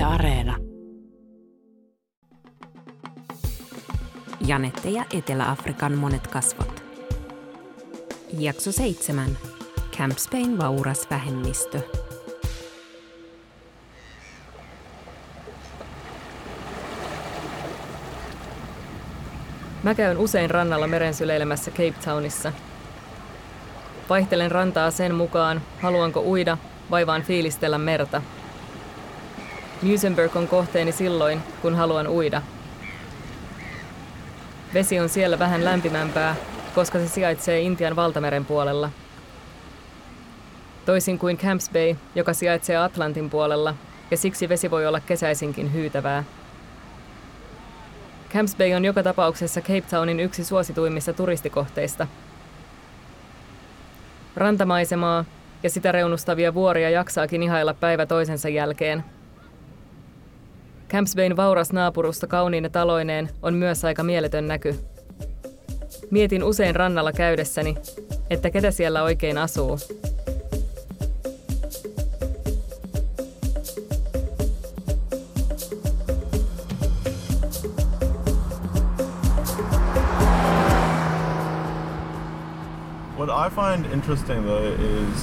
Areena. Janette ja Etelä-Afrikan monet kasvot. Jakso 7. Camp Spain vauras vähemmistö. Mä käyn usein rannalla merensyleilemässä Cape Townissa. Vaihtelen rantaa sen mukaan, haluanko uida vai vaan fiilistellä merta. Muizenberg on kohteeni silloin, kun haluan uida. Vesi on siellä vähän lämpimämpää, koska se sijaitsee Intian valtameren puolella. Toisin kuin Camps Bay, joka sijaitsee Atlantin puolella, ja siksi vesi voi olla kesäisinkin hyytävää. Camps Bay on joka tapauksessa Cape Townin yksi suosituimmista turistikohteista. Rantamaisemaa ja sitä reunustavia vuoria jaksaakin ihailla päivä toisensa jälkeen. Camps Bayn vauras naapurusto kauniine taloineen on myös aika mieletön näky. Mietin usein rannalla käydessäni, että ketä siellä oikein asuu. What I find interesting though is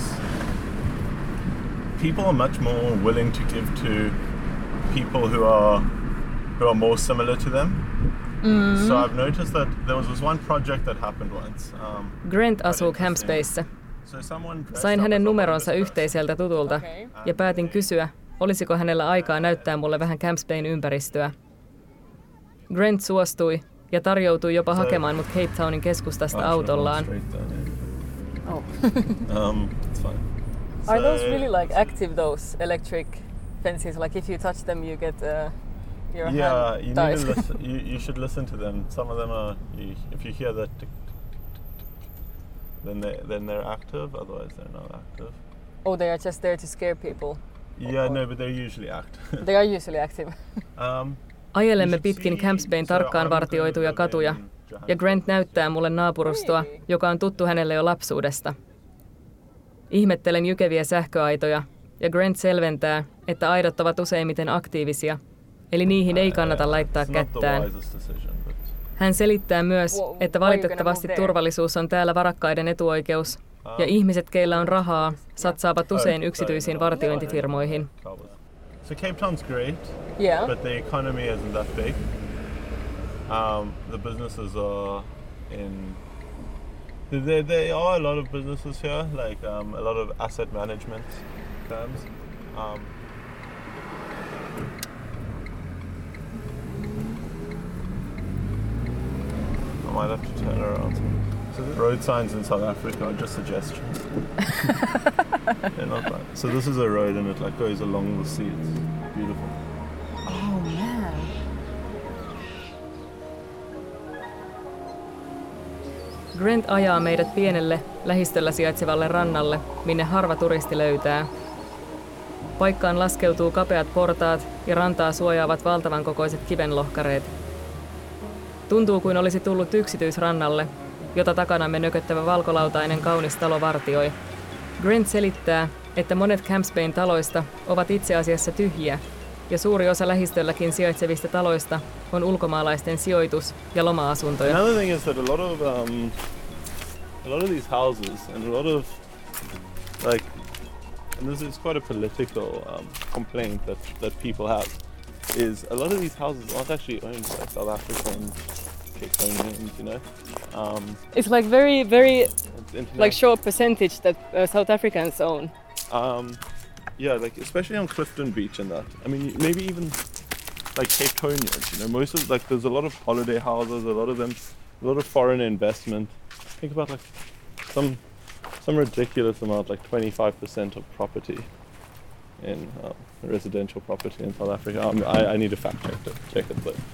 people are much more willing to give to people who are more similar to them. Mm-hmm. So I've noticed that there was this one project that happened once. Grant asuu Camps Bayssä. Sain hänen numeronsa yhteiseltä tutulta ja päätin kysyä, olisiko hänellä aikaa näyttää mulle vähän Camps Bayn ympäristöä. Grant suostui ja tarjoutui jopa hakemaan mut Cape Townin keskustasta autollaan. Oh. It's fine. Are those really like active, those electric fences? Like if you touch them, you get your hand you dies. need to listen. You should listen to them. Some of them are. If you hear that, tick, tick, tick, then they're active. Otherwise, they're not active. Oh, they are just there to scare people. Yeah, no, but they're usually active. They are usually active. Ajelemme pitkin Camps Bayn tarkkaan vartioituja katuja, ja Grant näyttää mulle naapurustoa, joka on tuttu hänelle jo lapsuudesta. Ihmettelen jykeviä sähköaitoja, ja Grant selventää, että aidot ovat useimmiten aktiivisia, eli niihin ei kannata laittaa kättään. Hän selittää myös, että valitettavasti turvallisuus on täällä varakkaiden etuoikeus, ja ihmiset, keillä on rahaa, satsaavat usein yksityisiin vartiointifirmoihin. So Cape Town's great, but the economy isn't that big. The businesses are in... There are a lot of businesses here, like a lot of asset management firms. I might have to turn around. So the road signs in South Africa are just suggestions. They're not bad. So this is a road and it like goes along the sea. It's beautiful. Oh man. Grant ajaa meidät pienelle, lähistöllä sijaitsevalle rannalle, minne harva turisti löytää. Paikkaan laskeutuu kapeat portaat ja rantaa suojaavat valtavan kokoiset kivenlohkareet. Tuntuu kuin olisi tullut yksityisrannalle, jota takanamme nököttävä valkolautainen kaunis talo vartioi. Grant selittää, että monet Camps Bayn taloista ovat itse asiassa tyhjiä, ja suuri osa lähistölläkin sijaitsevista taloista on ulkomaalaisten sijoitus- ja loma-asuntoja. Another thing is that a lot of these houses and a lot of like, and this is quite a political complaint that people have, is a lot of these houses aren't actually owned by South African Capetonians, you know. It's like very like short percentage that South Africans own. Yeah, like especially on Clifton Beach and that. I mean, maybe even like Capetonians, you know, most of like there's a lot of holiday houses, a lot of them, a lot of foreign investment. Think about like some ridiculous amount, like 25% of property in residential property in South Africa. I need to fact check it though.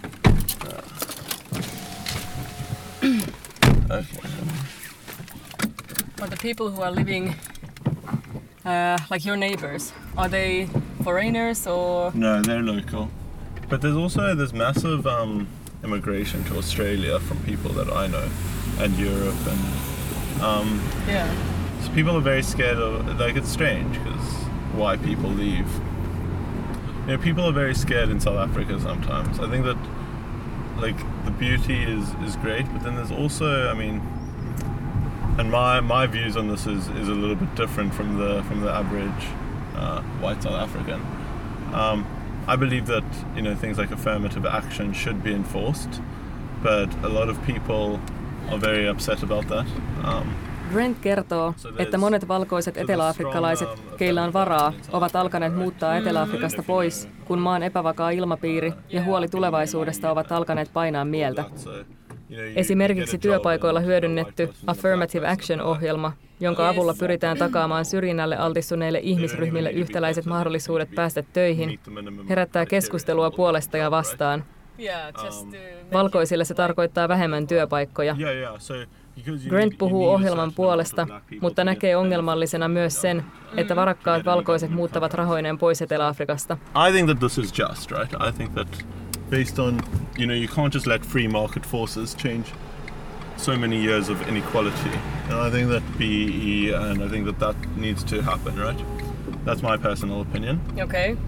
Okay. But the people who are living, like your neighbors, are they foreigners or? No, they're local. But there's also this massive immigration to Australia from people that I know, and Europe, and so people are very scared of. Like it's strange because why people leave people are very scared in South Africa sometimes. I think that like the beauty is great, but then there's also, I mean, and my views on this is a little bit different from the average white South African. I believe that things like affirmative action should be enforced, but a lot of people are very upset about that. Grant kertoo, että monet valkoiset eteläafrikkalaiset, keillä on varaa, ovat alkaneet muuttaa Etelä-Afrikasta pois, kun maan epävakaa ilmapiiri ja huoli tulevaisuudesta ovat alkaneet painaa mieltä. Esimerkiksi työpaikoilla hyödynnetty Affirmative Action-ohjelma, jonka avulla pyritään takaamaan syrjinnälle altistuneille ihmisryhmille yhtäläiset mahdollisuudet päästä töihin, herättää keskustelua puolesta ja vastaan. Valkoisille se tarkoittaa vähemmän työpaikkoja. Grant puhuu ohjelman puolesta, mutta näkee ongelmallisena myös sen, että varakkaat valkoiset muuttavat rahoineen pois Etelä-Afrikasta. I think that this is just, right? I think that based on, you can't just let free market forces change so many years of inequality. And I think that and I think that needs to happen, right? That's my personal opinion. Okay.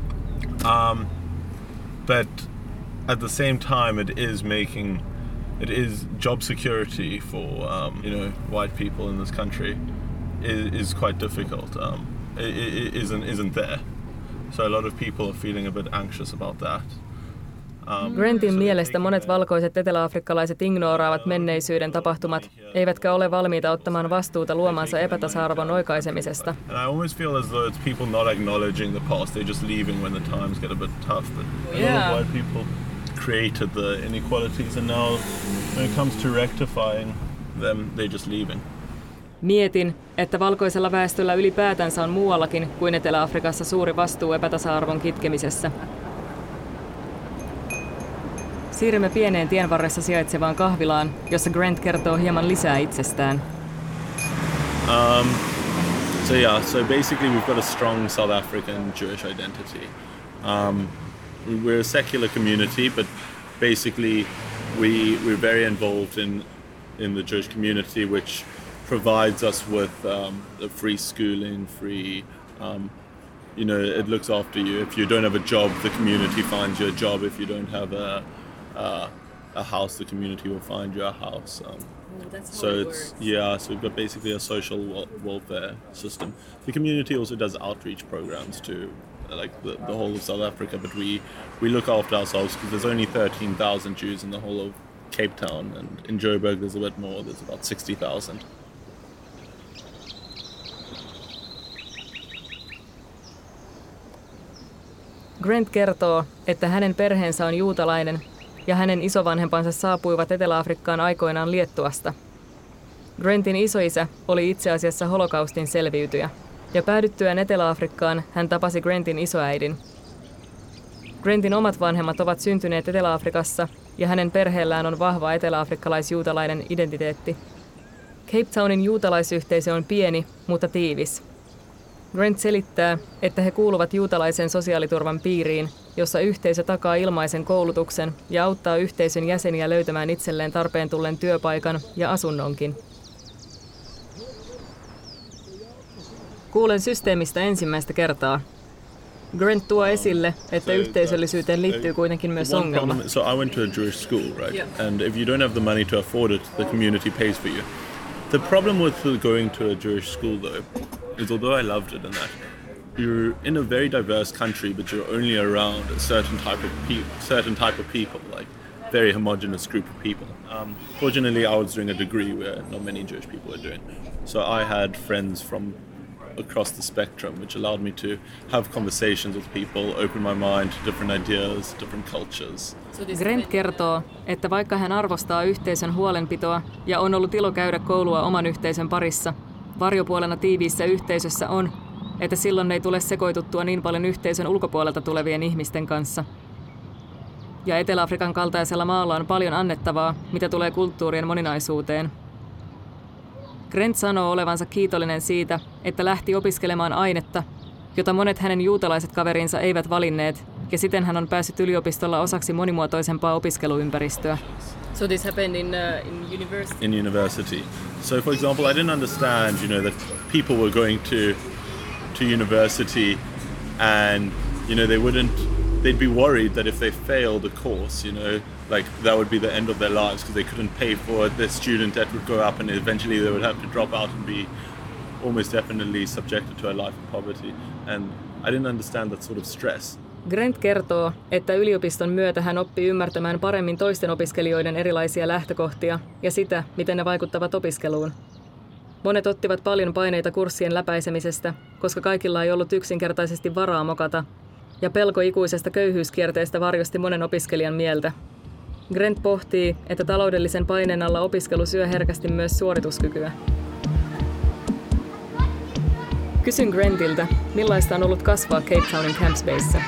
But at the same time, it is job security for white people in this country is quite difficult. It isn't there. So a lot of people are feeling a bit anxious about that. Grantin mielestä monet valkoiset eteläafrikkalaiset ignoraavat menneisyyden tapahtumat, eivätkä ole valmiita ottamaan vastuuta luomansa epätasa-arvon oikaisemisesta. And I always feel as though it's people not acknowledging the past. They're just leaving when the times get a bit tough. But a lot of white people created the inequalities, and now when it comes to rectifying them, they're just leaving. Mietin, että valkoisella väestöllä ylipäätänsä on muuallakin kuin Etelä-Afrikassa suuri vastuu epätasa-arvon kitkemisessä. Siirrymme pieneen tien varressa sijaitsevaan kahvilaan, jossa Grant kertoo hieman lisää itsestään. So basically we've got a strong South African Jewish identity. We're a secular community, but basically we're very involved in the Jewish community, which provides us with free schooling, free, it looks after you. If you don't have a job, the community finds you a job. If you don't have a house, the community will find you a house. So we've got basically a social welfare system. The community also does outreach programs to like the whole of South Africa, but we look after ourselves because there's only 13,000 Jews in the whole of Cape Town, and in Joburg there's a bit more. There's about 60,000. Grant kertoo, että hänen perheensä on juutalainen ja hänen isovanhempansa saapuivat Etelä-Afrikkaan aikoinaan Liettuasta. Grantin isoisä oli itse asiassa holokaustin selviytyjä, ja päädyttyään Etelä-Afrikkaan hän tapasi Grantin isoäidin. Grantin omat vanhemmat ovat syntyneet Etelä-Afrikassa, ja hänen perheellään on vahva eteläafrikkalais-juutalainen identiteetti. Cape Townin juutalaisyhteisö on pieni, mutta tiivis. Grant selittää, että he kuuluvat juutalaisen sosiaaliturvan piiriin, jossa yhteisö takaa ilmaisen koulutuksen ja auttaa yhteisön jäseniä löytämään itselleen tarpeen tullen työpaikan ja asunnonkin. Kuulen systeemistä ensimmäistä kertaa. Grant tuo esille, että yhteisöllisyyteen liittyy kuitenkin myös ongelma. So I went to a Jewish school, right? Yeah. And if you don't have the money to afford it, the community pays for you. The problem with going to a Jewish school, though, is although I loved it and that, you're in a very diverse country, but you're only around a certain type of people, like very homogenous group of people. Fortunately, I was doing a degree where not many Jewish people were doing, so I had friends from across the spectrum, which allowed me to have conversations with people, open my mind to different ideas, different cultures. Grant kertoo, että vaikka hän arvostaa yhteisön huolenpitoa ja on ollut ilo käydä koulua oman yhteisön parissa, varjopuolena tiiviissä yhteisössä on, että silloin ei tule sekoituttua niin paljon yhteisön ulkopuolelta tulevien ihmisten kanssa. Ja Etelä-Afrikan kaltaisella maalla on paljon annettavaa, mitä tulee kulttuurien moninaisuuteen. Grant sanoo olevansa kiitollinen siitä, että lähti opiskelemaan ainetta, jota monet hänen juutalaiset kaverinsa eivät valinneet, ja siten hän on päässyt yliopistolla osaksi monimuotoisempaa opiskeluympäristöä. So this happened in university? In university. So for example, I didn't understand, that people were going to university and, they wouldn't they'd be worried that if they failed the course, you know, like that would be the end of their lives because they couldn't pay for it. Their student debt would go up and eventually they would have to drop out and be almost definitely subjected to a life of poverty. And I didn't understand that sort of stress. Grant kertoo, että yliopiston myötä hän oppii ymmärtämään paremmin toisten opiskelijoiden erilaisia lähtökohtia ja sitä, miten ne vaikuttavat opiskeluun. Monet ottivat paljon paineita kurssien läpäisemisestä, koska kaikilla ei ollut yksinkertaisesti varaa mokata, ja pelko ikuisesta köyhyyskierteestä varjosti monen opiskelijan mieltä. Grant pohtii, että taloudellisen paineen alla opiskelu syö herkästi myös suorituskykyä. Kysyn Grantilta, millaista on ollut kasvaa Cape Townin Camps Bayssä.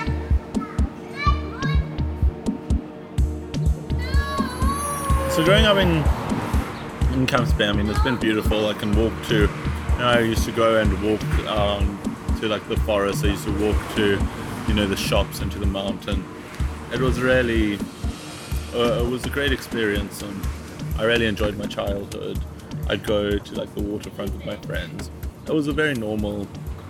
So growing up in Camps Bay, I mean, it's been beautiful. I can walk to, I used to go and walk to like the forest. I used to walk to, you know, the shops and to the mountain. It was really, it was a great experience, and I really enjoyed my childhood. I'd go to like the waterfront with my friends. It was a very normal,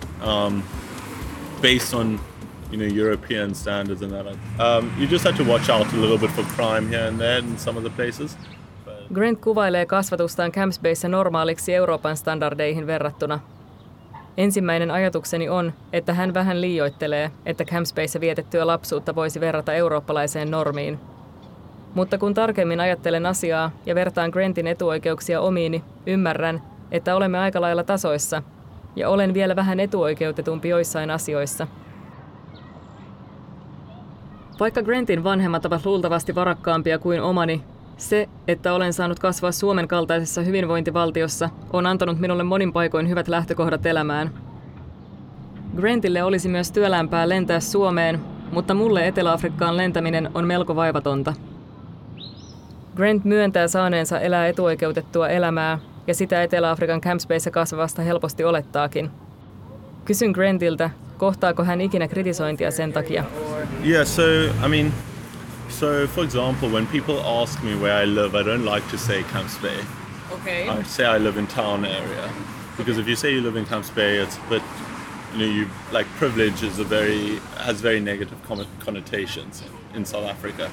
based on, you know, European standards and that. You just had to watch out a little bit for crime here and there in some of the places. Grant kuvailee kasvatustaan Camps Bayssä normaaliksi Euroopan standardeihin verrattuna. Ensimmäinen ajatukseni on, että hän vähän liioittelee, että Camps Bayssä vietettyä lapsuutta voisi verrata eurooppalaiseen normiin. Mutta kun tarkemmin ajattelen asiaa ja vertaan Grantin etuoikeuksia omiini, ymmärrän, että olemme aika lailla tasoissa, ja olen vielä vähän etuoikeutetumpi joissain asioissa. Vaikka Grantin vanhemmat ovat luultavasti varakkaampia kuin omani, se, että olen saanut kasvaa Suomen kaltaisessa hyvinvointivaltiossa, on antanut minulle monin paikoin hyvät lähtökohdat elämään. Grantille olisi myös työlämpää lentää Suomeen, mutta mulle Etelä-Afrikkaan lentäminen on melko vaivatonta. Grant myöntää saaneensa elää etuoikeutettua elämää, ja sitä Etelä-Afrikan Camps Bayssä kasvavasta helposti olettaakin. Kysyn Grantilta, kohtaako hän ikinä kritisointia sen takia? Yeah, so for example, when people ask me where I live, I don't like to say Camps Bay. Okay. I say I live in town area, because if you say you live in Camps Bay, it's a bit, you know, like privilege is has very negative connotations in South Africa.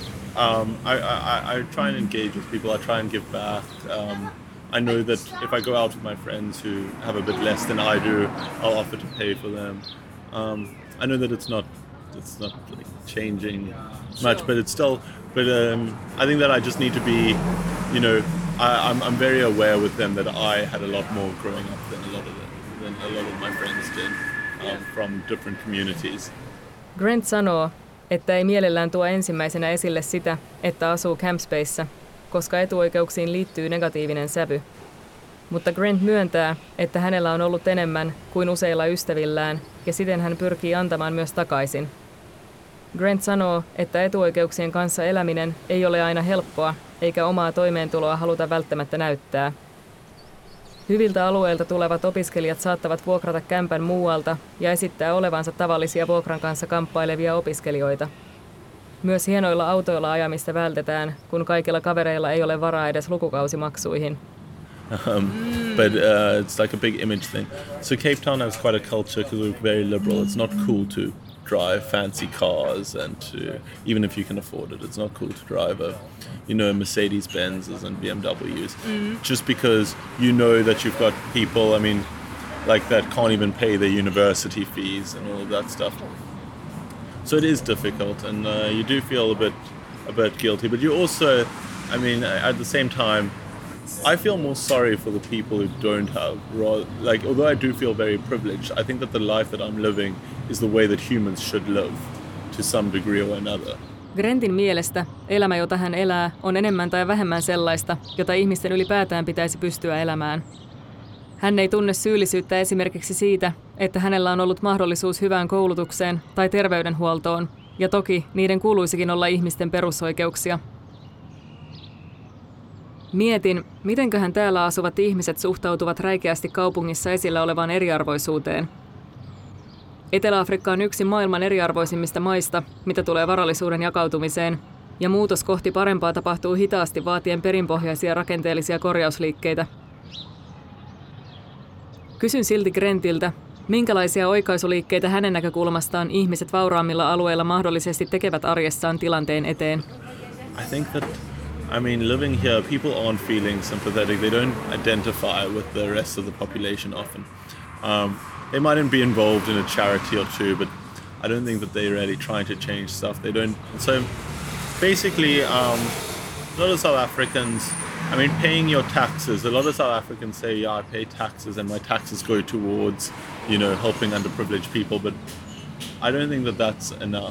I try and engage with people. I try and give back. I know that if I go out with my friends who have a bit less than I do, I'll offer to pay for them. I know that it's not like changing much, but it's still. But I think that I just need to be, you know, I'm very aware with them that I had a lot more growing up than a lot of my friends did from different communities. Grant sanoo, että ei mielellään tuo ensimmäisenä esille sitä, että asuu Camps Bayssä, koska etuoikeuksiin liittyy negatiivinen sävy. Mutta Grant myöntää, että hänellä on ollut enemmän kuin useilla ystävillään, ja siten hän pyrkii antamaan myös takaisin. Grant sanoo, että etuoikeuksien kanssa eläminen ei ole aina helppoa, eikä omaa toimeentuloa haluta välttämättä näyttää. Hyviltä alueilta tulevat opiskelijat saattavat vuokrata kämpän muualta ja esittää olevansa tavallisia vuokran kanssa kamppailevia opiskelijoita. Myös hienoilla autoilla ajamista vältetään, kun kaikilla kavereilla ei ole varaa edes lukukausimaksuihin. But it's like a big image thing. So Cape Town has quite a culture because we're very liberal. It's not cool to drive fancy cars, and even if you can afford it, it's not cool to drive Mercedes-Benzes and BMWs. Just because you know that you've got people, I mean, like that can't even pay their university fees and all of that stuff. So it is difficult, and you do feel a bit guilty. But you also, I mean, at the same time, I feel more sorry for the people who don't have. Like, although I do feel very privileged, I think that the life that I'm living is the way that humans should live to some degree or another. Grantin mielestä elämä, jota hän elää, on enemmän tai vähemmän sellaista, jota ihmisten ylipäätään pitäisi pystyä elämään. Hän ei tunne syyllisyyttä esimerkiksi siitä, että hänellä on ollut mahdollisuus hyvään koulutukseen tai terveydenhuoltoon, ja toki niiden kuuluisikin olla ihmisten perusoikeuksia. Mietin, mitenköhän täällä asuvat ihmiset suhtautuvat räikeästi kaupungissa esillä olevaan eriarvoisuuteen. Etelä-Afrikka on yksi maailman eriarvoisimmista maista, mitä tulee varallisuuden jakautumiseen, ja muutos kohti parempaa tapahtuu hitaasti vaatien perinpohjaisia rakenteellisia korjausliikkeitä. Kysyn silti Grantilta, Minkälaisia oikaisuliikkeitä hänen näkökulmastaan ihmiset vauraammilla alueilla mahdollisesti tekevät arjessaan tilanteen eteen? I think that, living here, people aren't feeling sympathetic. They don't identify with the rest of the population often. They mightn't be involved in a charity or two, but I don't think that they're really trying to change stuff. They don't. So basically, a lot of South Africans, paying your taxes. A lot of South Africans say, yeah, I pay taxes and my taxes go towards, helping underprivileged people. But I don't think that that's enough.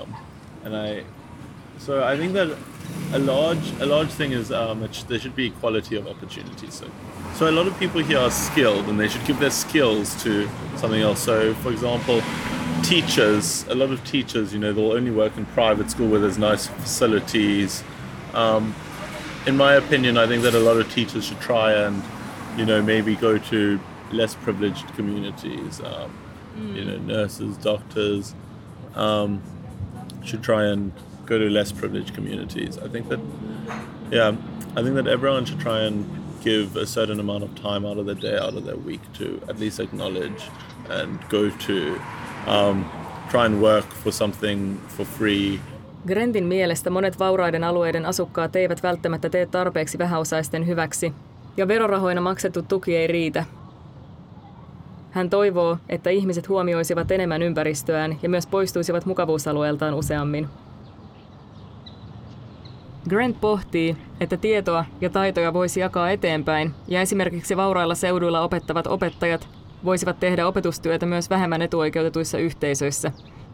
So I think that a large thing is that there should be equality of opportunities. So a lot of people here are skilled, and they should give their skills to something else. So, for example, teachers. A lot of teachers, they'll only work in private school where there's nice facilities. In my opinion, I think that a lot of teachers should try and, maybe go to less privileged communities. Nurses, doctors should try and go to less privileged communities. I think that everyone should try and give a certain amount of time out of their day, out of their week to at least acknowledge and go to try and work for something for free. Grentin mielestä monet vauraiden alueiden asukkaat eivät välttämättä tee tarpeeksi vähäosaisten hyväksi, ja verorahoina maksettu tuki ei riitä. Hän toivoo, että ihmiset huomioisivat enemmän ympäristöään ja myös poistuisivat mukavuusalueeltaan useammin. Grant pohtii, että tietoa ja taitoja voisi jakaa eteenpäin, ja esimerkiksi vaurailla seuduilla opettavat opettajat voisivat tehdä opetustyötä myös vähemmän etuoikeutetuissa yhteisöissä.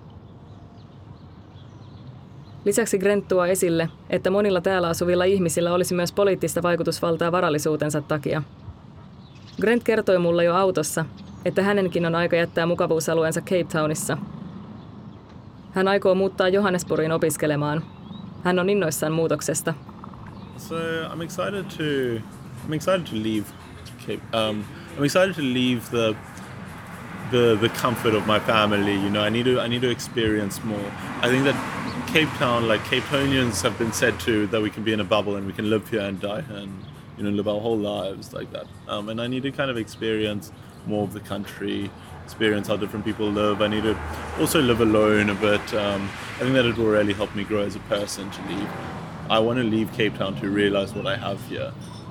Lisäksi Grant tuo esille, että monilla täällä asuvilla ihmisillä olisi myös poliittista vaikutusvaltaa varallisuutensa takia. Grant kertoi mulle jo autossa, että hänenkin on aika jättää mukavuusalueensa Cape Townissa. Hän aikoo muuttaa Johannesburgiin opiskelemaan. Hän on innoissaan muutoksesta. So I'm excited to leave Cape. I'm excited to leave the comfort of my family. I need to experience more. I think that Cape Town, like Cape Townians, have been said to that we can be in a bubble and we can live here and die here and live our whole lives like that. And I need to kind of experience more of the country, experience how different people live. I need to also live alone a bit. I think that it will really help me grow as a person to leave. I want to leave Cape Town to realize what I have here.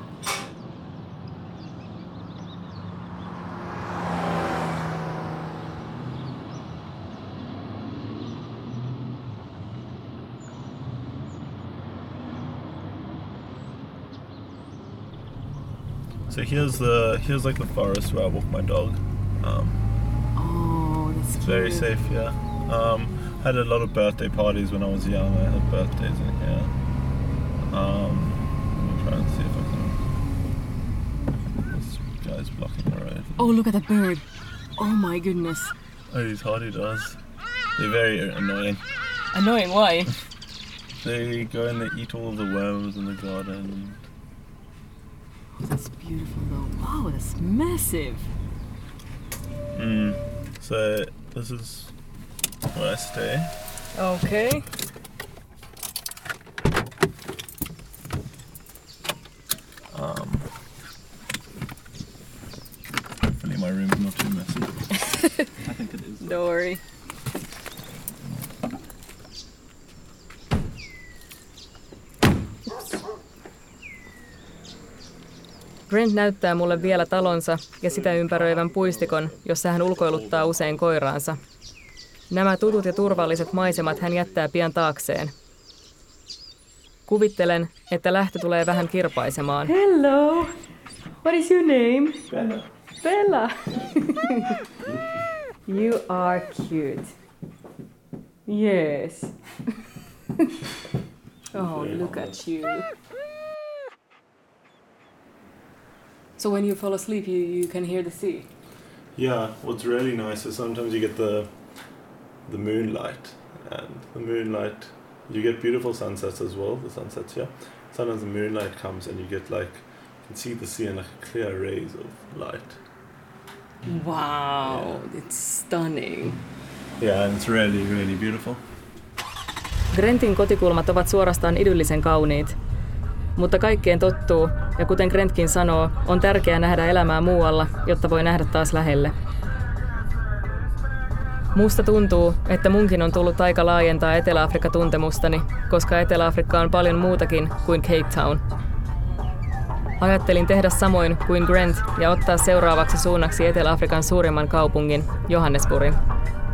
So here's like the forest where I walk my dog. That's It's very safe, yeah. Had a lot of birthday parties when I was young. I had birthdays in here. Let me try and see if I can. This guy's blocking the road. Oh, look at that bird. Oh my goodness. Oh, he's hardy does. They're very annoying. Annoying, why? They go and they eat all of the worms in the garden. That's beautiful though. Wow, that's massive. So this is where I stay. Okay. Hopefully my room's not too messy. I think it is. Don't worry. Grant näyttää mulle vielä talonsa ja sitä ympäröivän puistikon, jossa hän ulkoiluttaa usein koiraansa. Nämä tutut ja turvalliset maisemat hän jättää pian taakseen. Kuvittelen, että lähtö tulee vähän kirpaisemaan. Hello! What is your name? Bella. Bella! You are cute. Yes. Oh, look at you. So when you fall asleep, you can hear the sea. Yeah, what's really nice is sometimes you get the moonlight, and the moonlight, you get beautiful sunsets as well, the sunsets here. Sometimes the moonlight comes and you get you can see the sea in clear rays of light. Wow, Yeah. it's stunning. Yeah, and it's really, really beautiful. Grantin kotikulmat ovat suorastaan idyllisen kauniit. Mutta kaikkeen tottuu, ja kuten Grantkin sanoo, on tärkeää nähdä elämää muualla, jotta voi nähdä taas lähelle. Musta tuntuu, että munkin on tullut aika laajentaa Etelä-Afrikka-tuntemustani, koska Etelä-Afrikka on paljon muutakin kuin Cape Town. Ajattelin tehdä samoin kuin Grant ja ottaa seuraavaksi suunnaksi Etelä-Afrikan suurimman kaupungin, Johannesburgin.